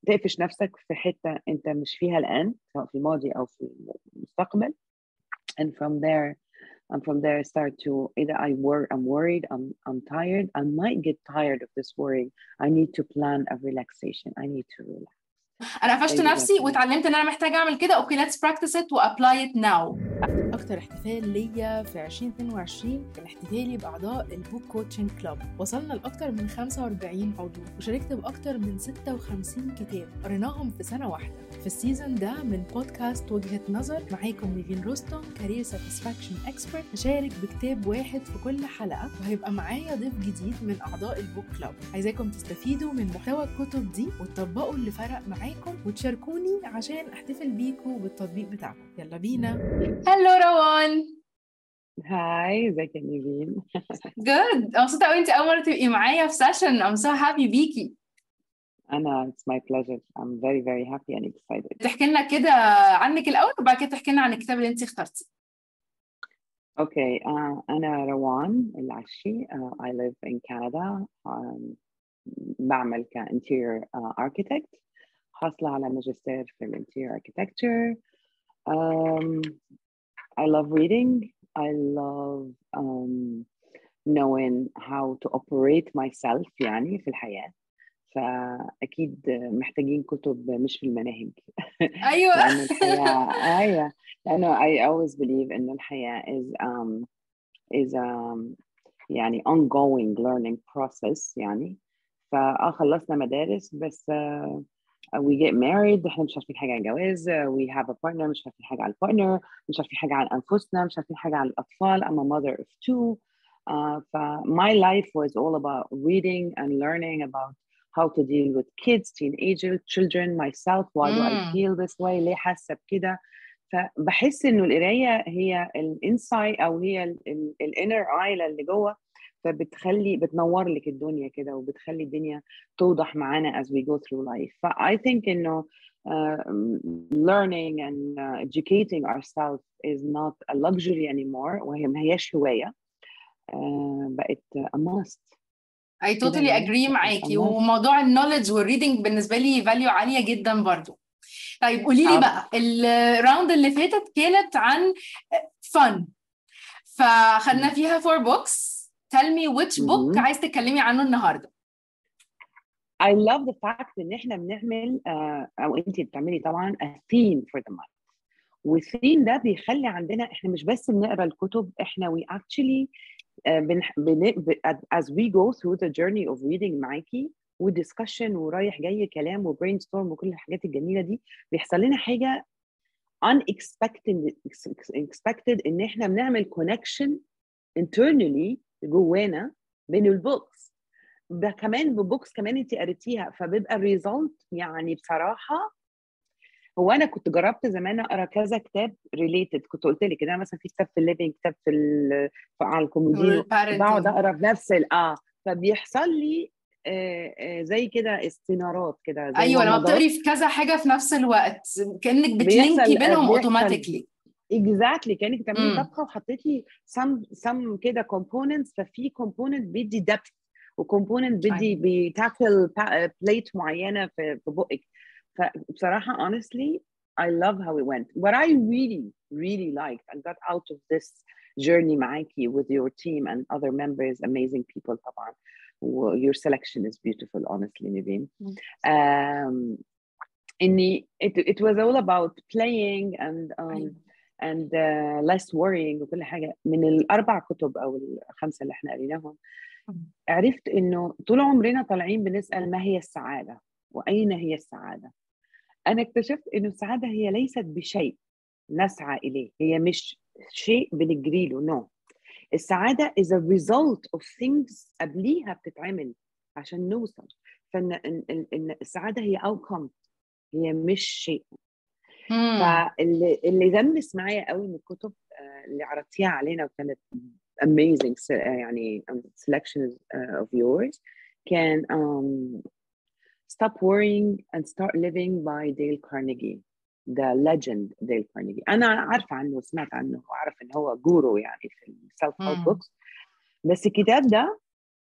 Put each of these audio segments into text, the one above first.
تقفش نفسك في حتة أنت مش فيها الآن، سواء في الماضي أو في المستقبل. And from there I start to either I'm worried, I'm tired, I might get tired of this worrying. I need to plan a relaxation. I need to relax. انا قفشت نفسي واتعلمت ان انا محتاجه اعمل كده. اوكي let's practice it و apply it now. اكتر احتفال ليا في 2022 كان احتفالي باعضاء البوك كوتشنج كلاب. وصلنا لاكتر من 45 عضو وشاركت باكتر من 56 كتاب قريناهم في سنه واحده. في السيزون ده من بودكاست وجهة نظر معاكم نيفين رستم كارير ساتسفاكشن اكسبرت، هشارك بكتاب واحد في كل حلقه، وهيبقى معايا ضيف جديد من اعضاء البوك كلاب. عايزاكم تستفيدوا من محتوى الكتب دي وتطبقوا اللي فرق معاكم وتشاركوني عشان احتفل بيكم بالتطبيق بتاعكم. يلا بينا. هلو روان. هاي، ازيك يا نيفين؟ Good. مبسوطة قوي انت اول مرة تبقي معايا في سيشن. I'm so happy بيكي. It's my pleasure. I'm very very happy and excited. تحكي لنا كده عنك الأول وبعد كده تحكي لنا عن الكتاب اللي انت اخترتي. Okay, أنا روان العشي. I live in Canada. بعمل كinterior architect. حاصلة على ماجستير في interior architecture. I love reading. I love knowing how to operate myself يعني في الحياة. فأكيد محتاجين كتب مش في المناهج. أيوة. لأن الحياة لأنه I always believe إن الحياة is يعني ongoing learning process يعني. خلصنا مدارس بس we get married، احنا مش عارفين حاجة عن الجواز. we have a partner، مش عارفين حاجة عن البارتنر، مش عارفين حاجة عن أنفسنا، مش عارفين حاجة عن الأطفال. I'm a mother of two. My life was all about reading and learning about how to deal with kids, teenagers, children, myself. Why do I feel this way? ليه حاسة بكده؟ فبحس إنه القراية هي الانسايت أو هي الانر اي اللي جوه، بتنور لك الدنيا كده وبتخلي الدنيا توضح معانا as we go through life. I think إنه learning and educating ourselves is not a luxury anymore، وهي ما هياش هواية، بقت a must. I totally agree معاكي. وموضوع النوليدج والريدنج بالنسبة لي فاليو عالية جدا برضو. طيب قولي لي بقى، الراوند اللي فاتت كانت عن fun، فخدنا فيها 4 books. Tell me which book عايز تتكلمي عنه النهارده. I love the fact إن إحنا بنعمل أو أنتي بتعملي طبعا a theme for the month. والثيم ده بيخلي عندنا إحنا مش بس بنقرأ الكتب، إحنا we actually as we go through the journey of reading معاكي ودiscussion ورايح جاي كلام وbrainstorm وكل الحاجات الجميلة دي، بيحصل لنا حاجة unexpected إن إحنا بنعمل connection internally جوانا بين البوكس ده. كمان بالبوكس كمان انت قريتيها، فبيبقى الريزلت يعني بصراحه. هو انا كنت جربت زمان اقرا كذا كتاب ريليتد، كنت قلت لك كده مثلا في كتاب في الليفينج، كتاب على الكومودينو، بقعد اقرا في نفس فبيحصل لي زي كده استنارات كده. ايوه، لما بتقري في كذا حاجه في نفس الوقت كانك بتلينكي بينهم اوتوماتيكلي. exactly كانك بتعملي طبخه وحطيتي some كده components، ففي component بيدي depth وكومبوننت بتاكل بليت معينه في بقك. فبصراحه honestly I love how it went. What I really liked and got out of this journey معاكي with your team and other members, amazing people طبعا. Your selection is beautiful honestly Niveen. It was all about playing and less worrying وكل حاجه. من الاربع كتب او الخمسه اللي احنا قريناهم عرفت إنه طول عمرنا طالعين بنسأل ما هي السعادة وأين هي السعادة. أنا اكتشفت إنه السعادة هي ليست بشيء نسعى إليه، هي مش شيء بنجري له. no. السعادة is a result of things قبليها بتتعمل عشان نوصل. فإن السعادة هي outcome، هي مش شيء. فاللي لمس معايا قوي من الكتب اللي عرضتيها علينا وكانت amazing يعني selections of yours can Stop Worrying and Start Living by Dale Carnegie. The legend Dale Carnegie. أنا عارفة عنه وسمعت عنه وعارف إن هو جورو يعني في self-help books. بس الكتاب ده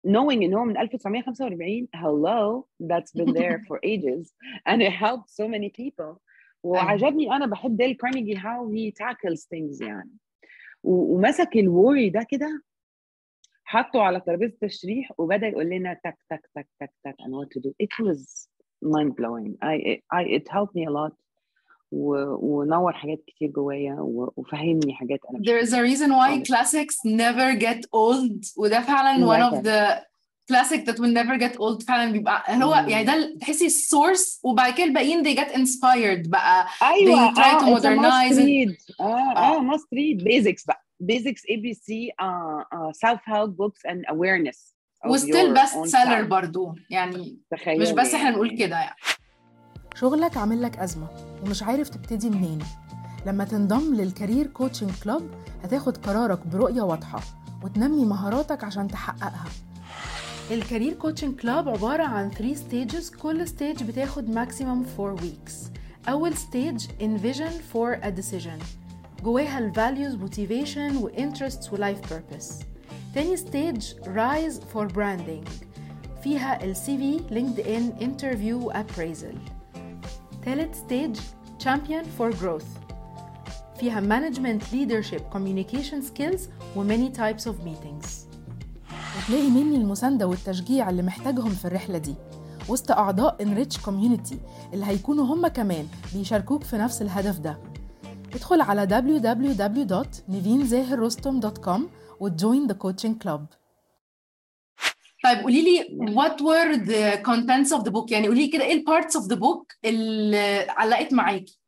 knowing إن هو من 1945 hello that's been there for ages and it helped so many people. وعجبني أنا بحب ديل كارنيجي how he tackles things يعني. ومسك الوري ده كده حطه على ترابيزة التشريح وبدأ يقول لنا تك تك تك تك تك and what to do. It was mind blowing. It helped me a lot. ونور حاجات كتير جوايا وفهمني حاجات أنا There is a reason why classics never get old. وده فعلا one of the classic that will never get old. فعلا بيبقى هو يعني ده تحسي السورس وبعد كده الباقيين they get inspired بقى. أيوة. They try to modernize it. must read basics بقى. Basics ABC self-help books and awareness. وستيل بست سيلر برضو يعني مش بس احنا نقول كده يعني. شغلك عامل لك أزمة ومش عارف تبتدي منين؟ لما تنضم للكارير كوتشنج كلوب هتاخد قرارك برؤية واضحة وتنمي مهاراتك عشان تحققها. الكارير كوتشنج كلوب عبارة عن 3 stages، كل stage بتاخد maximum 4 weeks. أول stage envision for a decision، جواها ال values motivation و interests و life purpose. تاني stage rise for branding، فيها ال CV LinkedIn interview و appraisal. ثالث stage champion for growth، فيها management leadership communication skills و many types of meetings. وتلاقي مني المساندة والتشجيع اللي محتاجهم في الرحلة دي وسط أعضاء enrich community اللي هيكونوا هم كمان بيشاركوك في نفس الهدف ده. ادخل على www.nivinzahirrostom.com وjoin the coaching club. طيب قولي لي what were the contents of the book؟ يعني قولي كده ايه ال parts of the book اللي علقت معاكي؟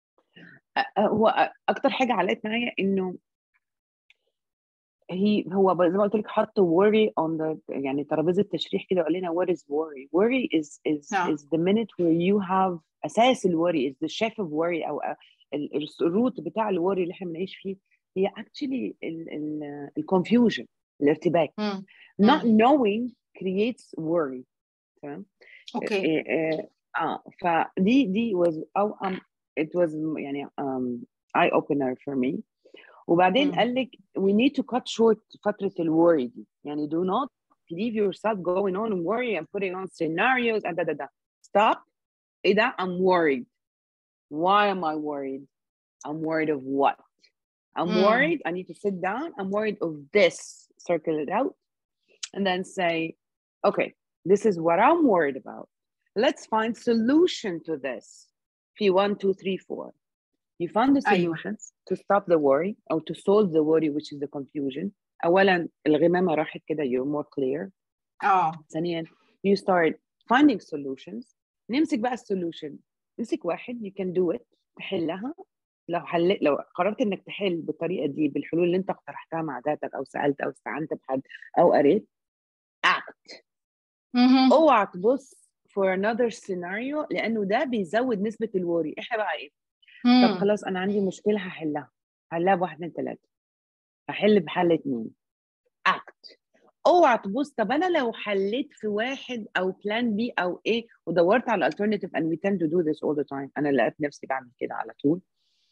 هو اكتر حاجه علقت معايا انه هو زي ما قلت لك حط worry on the يعني ترابيزه التشريح كده وقال لنا what is worry. Worry is the minute where you have اساس الworry is the chef of worry او الروت بتاع الوري اللي احنا بنعيش فيه هي actually ال confusion الارتباك. not knowing creates worry. تمام. اوكي. فدي was it was يعني eye opener for me. وبعدين قال لك we need to cut short فترة الworry دي يعني do not leave yourself going on and worry and putting on scenarios and da. Stop. ايه ده؟ I'm worried. Why am I worried? I'm worried of what? I'm worried. I need to sit down. I'm worried of this. Circle it out. And then say, okay, this is what I'm worried about. Let's find solution to this. P 1, 2, 3, 4. You find the solutions to stop the worry or to solve the worry, which is the confusion. أولاً الغمامة راحت كده you're more clear. ثانياً you start finding solutions. نمسك بقى السولوشن. نمسك واحد you can do it. تحلها. لو قررت انك تحل بالطريقه دي بالحلول اللي انت اقترحتها مع ذاتك او سالت او استعنت بحد او قريت act. اوعى تبص for another scenario لانه ده بيزود نسبه الوري. احنا بقى ايه؟ طب خلاص انا عندي مشكله هحلها ب1 2 3 هحل بحل 2 act. اوعى تبص طب انا لو حليت في واحد او بلان بي او ايه ودورت على alternative and we tend to do this all the time. انا لقيت نفسي بعمل كده على طول.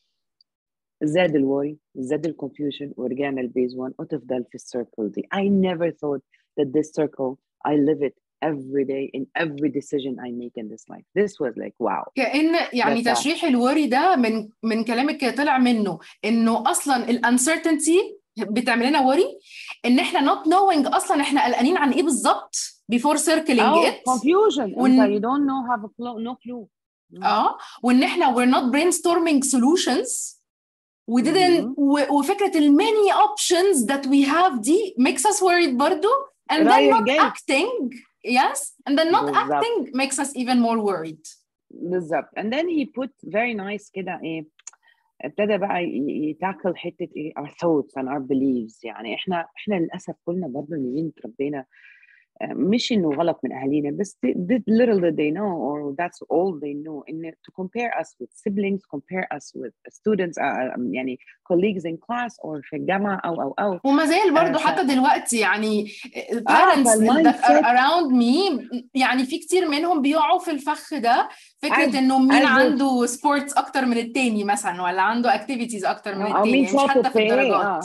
زاد الوري زاد الكونفيوجن ورجعنا البيز 1 وتفضل في السيركل دي. I never thought that this circle I live it every day in every decision I make in this life. This was like wow. كأن يعني تشريح الوري ده من كلامك طلع منه انه اصلا الانسرتينتي بتعمل لنا وري ان احنا not knowing اصلا احنا قلقانين عن ايه بالظبط before circling it. confusion. You don't know have a clue, no clue. وان احنا we're not brainstorming solutions. We didn't وفكرة many options that we have دي makes us worried برضو and then not acting. Yes, and then not acting makes us even more worried. بالظبط. And then he put very nice كده ايه ابتدى بقى يتاكل حتة ايه our thoughts and our beliefs. يعني احنا للأسف كلنا برضو نيجين تربينا مش انه غلط من اهالينا بس little did they know or that's all they know in to compare us with siblings, compare us with students يعني colleagues in class or في الجامعة او وما زال برضو حتى دلوقتي يعني parents that are around me يعني في كتير منهم بيقعوا في الفخ ده فكرة انه مين عنده sports اكتر من التاني مثلا ولا عنده activities اكتر من التاني مش حتى في الدرجات.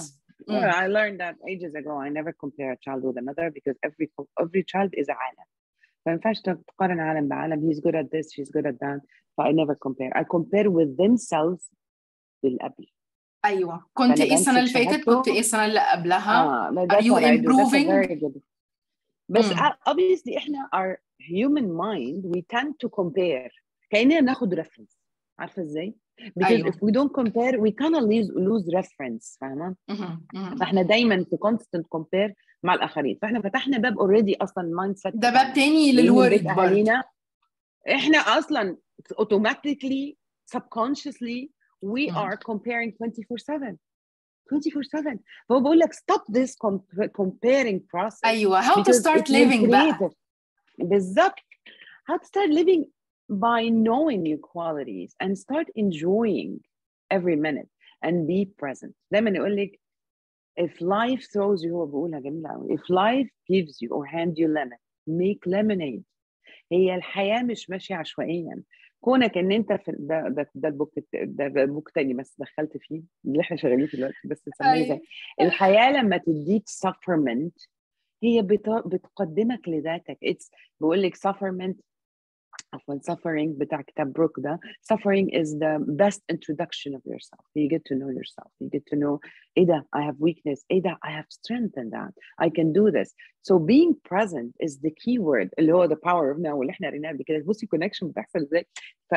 Well, I learned that ages ago. I never compare a child with another because every child is a عالم. ما ينفعش تقارن عالم بعالم. He's good at this, she's good at that. I never compare. I compare with themselves بالقبل. ايوه كنت ايه السنه اللي فاتت، كنت ايه السنه اللي قبلها. Are you improving? That's a very good. بس obviously احنا our human mind we tend to compare. كأننا ناخد reference. عارفة ازاي؟ Because if we don't compare we kind of lose reference. فاهمة؟ فاحنا دايما في constant compare مع الآخرين. فاحنا فتحنا باب already أصلا mindset. ده باب تاني للورد برضه. احنا أصلا automatically subconsciously we are comparing 24/7. 24/7. فهو بقول لك stop this comparing process. أيوة how to start living بقى. بالظبط. How to start living by knowing your qualities and start enjoying every minute and be present. دايما يقول لك if life throws you, هو بقولها جميلة قوي. If life gives you or hand you lemon, make lemonade. هي الحياة مش ماشية عشوائيا. كونك ان انت في ده البوك تاني بس دخلت فيه اللي احنا شغالين فيه دلوقتي بس نسميه زي الحياة لما تديك sufferment هي بتقدمك لذاتك. بقول لك sufferment عفوا suffering بتاع كتاب بروك ده. Suffering is the best introduction of yourself. You get to know yourself. You get to know إيه ده I have weakness. إيه ده I have strength in that. I can do this. So being present is the key word اللي هو the power of now واللي احنا قريناه قبل كده. بصي connection بتحصل ازاي.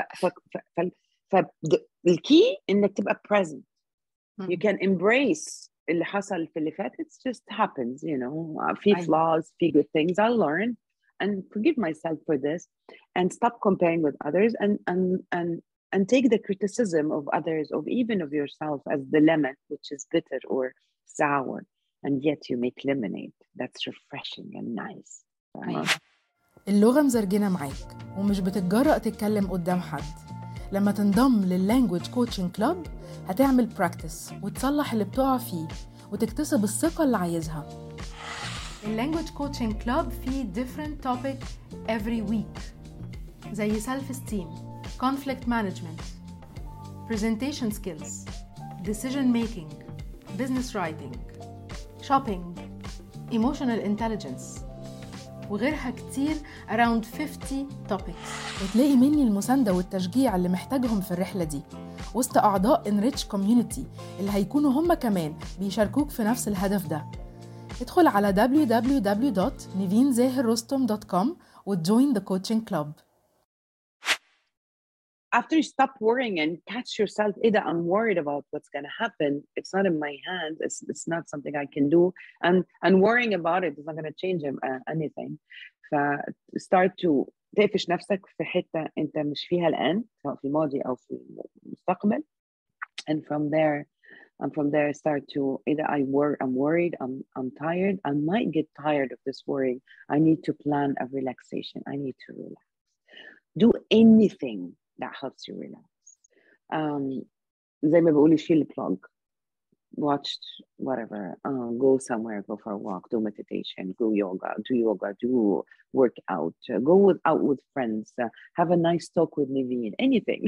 الكي إنك تبقى present. You can embrace اللي حصل في اللي فات. It just happens, you know. في flaws, في good things I learn. And forgive myself for this, and stop comparing with others, and take the criticism of others, of even of yourself, as the lemon, which is bitter or sour, and yet you make lemonade. That's refreshing and nice. اللغة مزرجنة معاك ومش بتتجرأ تتكلم قدام حد. لما تنضم لللانجويج كوتشنج كلاب هتعمل براكتس وتصلح اللي بتقع فيه وتكتسب الثقة اللي عايزها. اللانجويج كوتشنج كلاب فيه different topic every week زي self esteem, conflict management, presentation skills, decision making, business writing, shopping, emotional intelligence وغيرها كتير around 50 topics. وتلاقي مني المساندة والتشجيع اللي محتاجهم في الرحلة دي وسط أعضاء Enrich Community اللي هيكونوا هم كمان بيشاركوك في نفس الهدف ده. ادخل على www.nivinzahirrostom.com وjoin the coaching club. After you stop worrying and catch yourself, either I'm worried about what's going to happen. It's not in my hands. It's not something I can do. And worrying about it is not going to change anything. Start to تقفش نفسك في حتة أنت مش فيها الآن سواء في الماضي أو في المستقبل. And from there start to either I'm worried, I'm tired. I might get tired of this worrying. I need to plan a relaxation. I need to relax. Do anything that helps you relax. زي ما بقول شيل plug. Watch whatever. Go somewhere. Go for a walk. Do meditation. Do yoga. Do workout. Go out with friends. Have a nice talk with Niveen. Anything.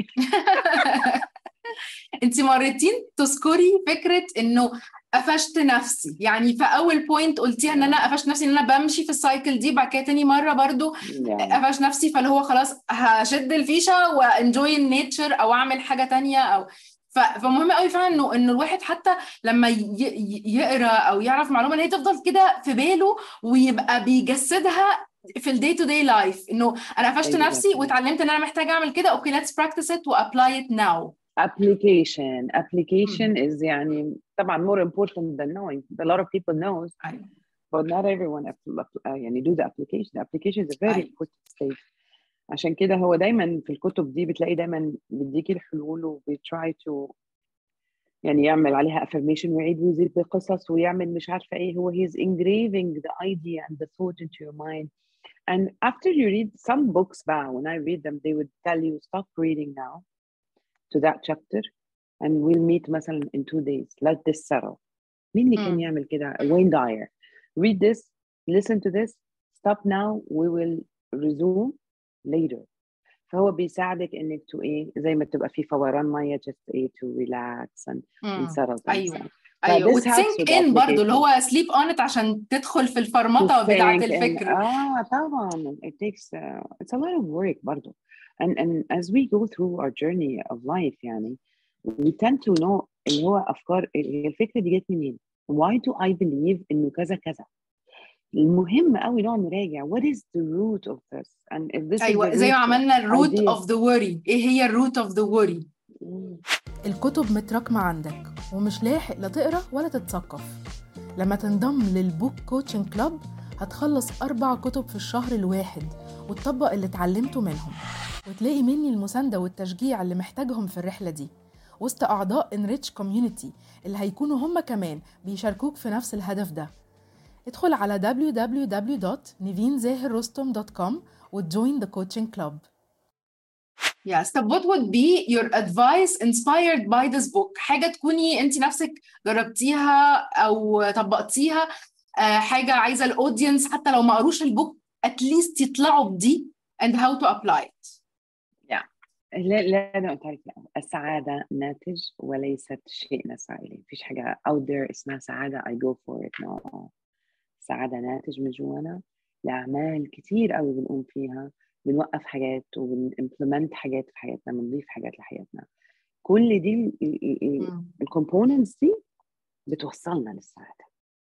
انت مرتين تذكري فكره انه قفشت نفسي. يعني في اول بوينت قلتيها ان انا قفشت نفسي ان انا بمشي في السايكل دي. بعد كده تاني مره برضو قفشت نفسي فاللي هو خلاص هشد الفيشه وانجوي النيتشر او اعمل حاجه تانية او فمهم قوي فعلا انه الواحد حتى لما يقرا او يعرف معلومه ان هي تفضل كده في باله ويبقى بيجسدها في الدي تو داي لايف. انه انا قفشت نفسي واتعلمت ان انا محتاجه اعمل كده. اوكي let's practice it وapply it now. Application is يعني طبعا more important than knowing. A lot of people knows, but not everyone يعني do the application. The application is a very important stage. عشان كده هو دايما في الكتب دي بتلاقي دايما بيديكي الحلول وبيtry to يعني يعمل عليها affirmation ويعيد ويزيد بقصص ويعمل مش عارفة ايه. هو he's engraving the idea and the thought into your mind. And after you read some books بقى, when I read them, they would tell you stop reading now to that chapter and we'll meet مثلا in 2 days. Let this settle. مين اللي كان يعمل كده؟ Wayne Dyer. Read this, listen to this, stop now, we will resume later. فهو بيساعدك انك تو ايه زي ما تبقى في فوران ميه just ايه to relax and settle. أيوة. ايوه، this helps وتسينك with ان برضو اللي application. هو سليب اون ات عشان تدخل في To الفرمطه بتاعه think and الفكر. طبعا it takes it's a lot of work برضو. And as we go through our journey of life يعني we tend to know اللي هو أفكار الفكرة دي جت منين. Why do I believe إنه كذا كذا. المهم قوي نقعد نراجع what is the root of this and if this is ايوه the زي ما root عملنا الروت idea. اوف ذا worry، ايه هي الروت اوف ذا worry؟ الكتب متراكمة عندك ومش لاحق لا تقرأ ولا تتثقف. لما تنضم للبوك كوتشنج كلاب هتخلص 4 كتب في الشهر الواحد وتطبق اللي اتعلمته منهم، وتلاقي مني المساندة والتشجيع اللي محتاجهم في الرحلة دي وسط أعضاء Enrich Community اللي هيكونوا هم كمان بيشاركوك في نفس الهدف ده. ادخل على www.nivinzahirrostom.com وjoin the coaching club. Yes. طب what would be your advice inspired by this book؟ حاجة تكوني انت نفسك جربتيها او طبقتيها، حاجة عايزة الاودينس حتى لو ما قروش البوك at least يطلعوا بدي and how to apply it. لا أنا قلت لك السعادة ناتج وليست شيء نسعى إليه. مفيش حاجة out there اسمها سعادة I go for it. No. السعادة ناتج من جوانا لأعمال كتير قوي بنقوم فيها، بنوقف حاجات وبنimplement حاجات في حياتنا، بنضيف حاجات لحياتنا. كل دي الكومبوننتس دي بتوصلنا للسعادة.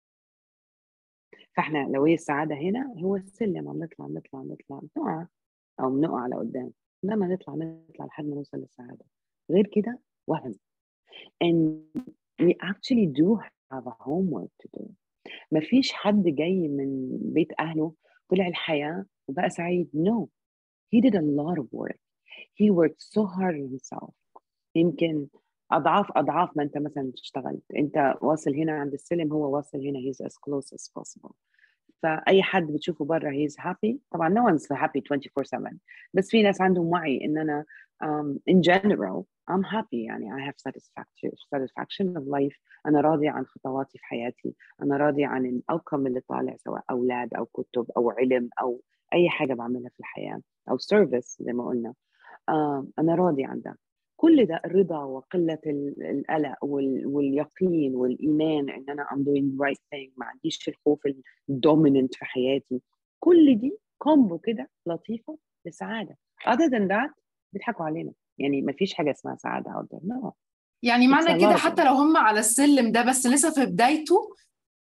فاحنا لو هي السعادة هنا هو السلم، عم نطلع نقع أو بنقع لقدام، لما نطلع لحد ما نوصل للسعادة. غير كده وهم. and we actually do have a homework to do. ما فيش حد جاي من بيت أهله طلع الحياة وبقى سعيد. No, he did a lot of work. He worked so hard on himself. يمكن أضعاف ما أنت مثلا اشتغلت. أنت واصل هنا عند السلم، هو واصل هنا. He's as close as possible. فأي حد بتشوفه برا he's happy. طبعا no one's happy 24/7. بس في ناس عندهم وعي إن أنا in general I'm happy. يعني I have satisfaction of life. أنا راضي عن خطواتي في حياتي. أنا راضي عن الأوتكم اللي طالع، سواء أولاد أو كتب أو علم أو أي حاجة بعملها في الحياة أو service زي ما قلنا. أنا راضي عن ده. كل ده الرضا وقلة القلق واليقين والإيمان إن أنا I'm doing the right thing. ما عنديش الخوف الدوميننت في حياتي. كل دي كومبو كده لطيفة للسعادة. other than that بيضحكوا علينا. يعني ما فيش حاجة اسمها سعادة out there. No. يعني معنى كده حتى لو هم على السلم ده بس لسه في بدايته،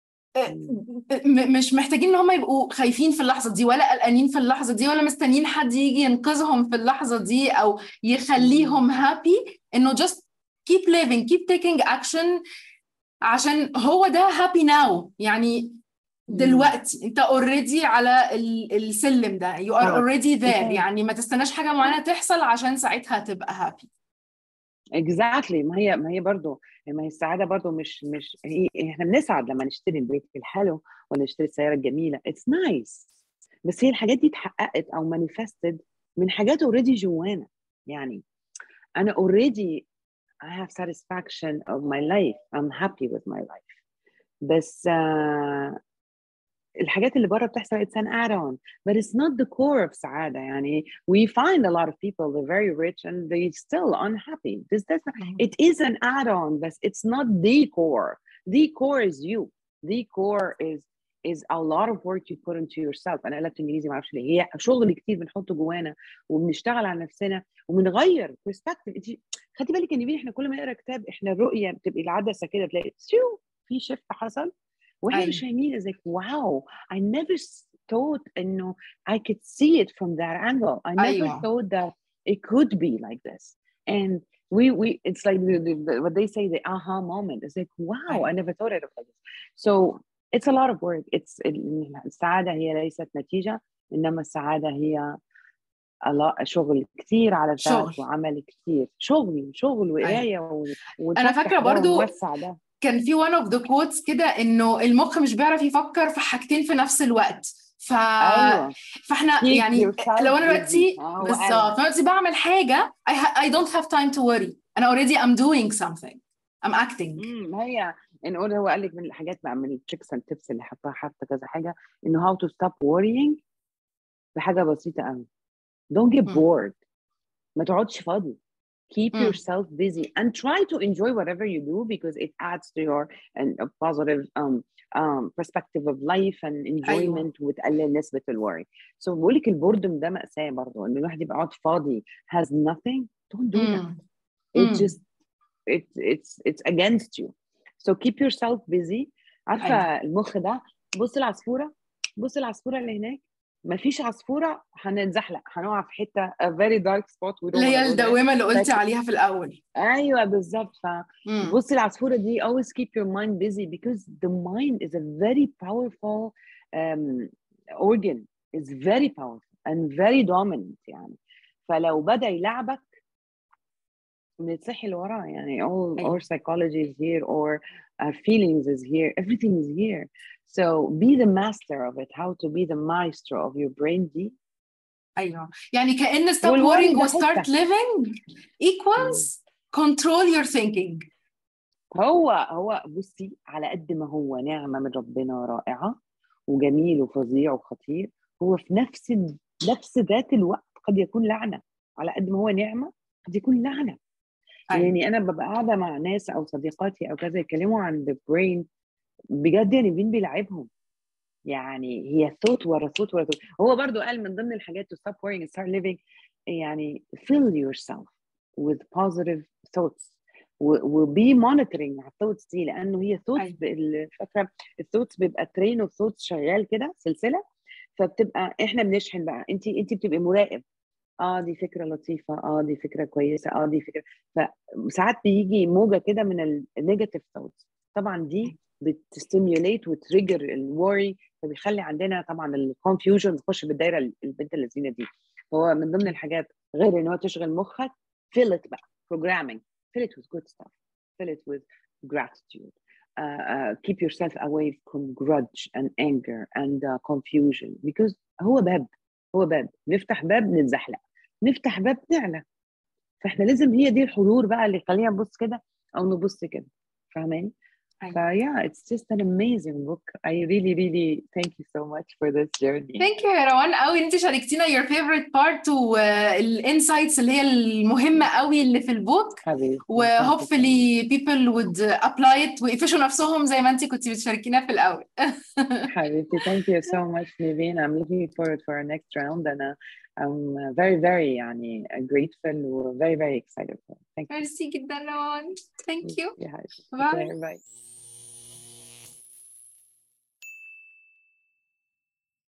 مش محتاجين ان هم يبقوا خايفين في اللحظة دي ولا قلقانين في اللحظة دي ولا مستنيين حد يجي ينقذهم في اللحظة دي او يخليهم happy. انه just keep living, keep taking action، عشان هو ده happy now. يعني دلوقتي انت already على السلم ده، you are already there. يعني ما تستناش حاجة معينة تحصل عشان ساعتها تبقى happy. exactly. ما هي برضو، ما هي السعادة برضو مش هي احنا بنسعد لما نشتري البيت الحلو ولا نشتري السيارة الجميلة. it's nice. بس هي الحاجات دي اتحققت او manifested من حاجات already جوانا. يعني أنا already I have satisfaction of my life. I'm happy with my life. بس الحاجات اللي برا بتحصل it's an add-on, but it's not the core of سعادة. يعني we find a lot of people they're very rich and they still unhappy. It is an add-on, but it's not the core. The core is you. The core is a lot of work you put into yourself. أنا قلت إنجليزي ما أعرفش ليه. هي شغل كتير بنحطه جوانا وبنشتغل على نفسنا وبنغير perspective. خدي بالك إن إحنا كل ما نقرأ كتاب إحنا الرؤية بتبقي العدسة كده تلاقي في shift حصل واحنا مش فاهمين. like wow, I never thought انه I could see it from that angle. I never thought that it could be like this. And we it's like what they say, the aha moment. It's like wow, I never thought it like this. So it's a lot of work. السعادة هي ليست نتيجة، إنما السعادة هي شغل كتير على الذات وعمل كتير. شغل وقراية أنا فاكرة برضو كان في one of the quotes كده إنه المخ مش بيعرف يفكر في حاجتين في نفس الوقت. فاحنا يعني لو أنا دلوقتي بالظبط بعمل حاجة I don't have time to worry. أنا already I'm doing something. I'm acting. هي نقول هو قال لك من الحاجات بقى من التريكس اند تيبس اللي حتى كذا حاجة إنه how to stop worrying بحاجة بسيطة قوي. don't get bored. ما تقعدش فاضي. keep yourself busy and try to enjoy whatever you do because it adds to your a positive perspective of life and enjoyment وتقلل نسبة الworry. So بقولك البوردم ده مأساة برضو إن الواحد يبقى قاعد فاضي has nothing. Don't do that. It just it's against you. So keep yourself busy. عارفة المخ ده بص العصفورة اللي هناك مفيش عصفورة هنتزحلق هنقع في حتة a very dark spot اللي هي الدوامة اللي قلتي عليها في الأول. أيوة بالظبط. فبصي العصفورة دي always keep your mind busy because the mind is a very powerful organ. It's very powerful and very dominant يعني. فلو بدأ يلعبك بنتصحي لورا يعني all our psychology is here or our feelings is here, everything is here. So be the master of it, how to be the maestro of your brain دي. أيوة يعني كأن stop worrying و start living equals control your thinking. هو بصي على قد ما هو نعمة من ربنا رائعة وجميل وفظيع وخطير هو في نفس ذات الوقت قد يكون لعنة. على قد ما هو نعمة قد يكون لعنة. يعني أنا ببقى قاعدة مع ناس أو صديقاتي أو كذا يتكلموا عن the brain بجد يعني مين بيلعبهم يعني هي ثوت ورا ثوت. هو برضو قال من ضمن الحاجات to stop worrying and start living يعني fill yourself with positive thoughts وبي monitoring على الثوتس دي لأنه هي thoughts فاكرة الثوتس بيبقى train of thoughts شغال كده سلسلة فبتبقى إحنا بنشحن بقى أنت بتبقى مراقب دي فكرة لطيفة دي فكرة كويسة دي فكرة. فساعات بيجي موجة كده من النيجاتيف ثوتس طبعا دي بتستيميوليت وتريجر الوري فبيخلي عندنا طبعا الكونفيوجن نخش بالدايره البنت اللذينه دي. هو من ضمن الحاجات غير ان هو تشغل مخك fill it بقى programming fill it with good stuff fill it with gratitude keep yourself away from grudge and anger and confusion because هو باب نفتح باب نتزحلق نفتح باب نعلى. فاحنا لازم هي دي الحضور بقى اللي يخلينا نبص كده او نبص كده فاهماني. Yeah, it's just an amazing book. I really thank you so much for this journey. Thank you يا روان قوي ان انت شاركتينا your favorite part والinsights اللي هي المهمة قوي اللي في البوك و hopefully people would apply it ويقفشوا نفسهم زي ما انت كنتي بتشاركينا في الأول. حبيبتي thank you so much Niveen. I'm looking forward for our next round and I'm very يعني grateful و very excited. Thank you. Merci جدا روان. Thank you. Bye.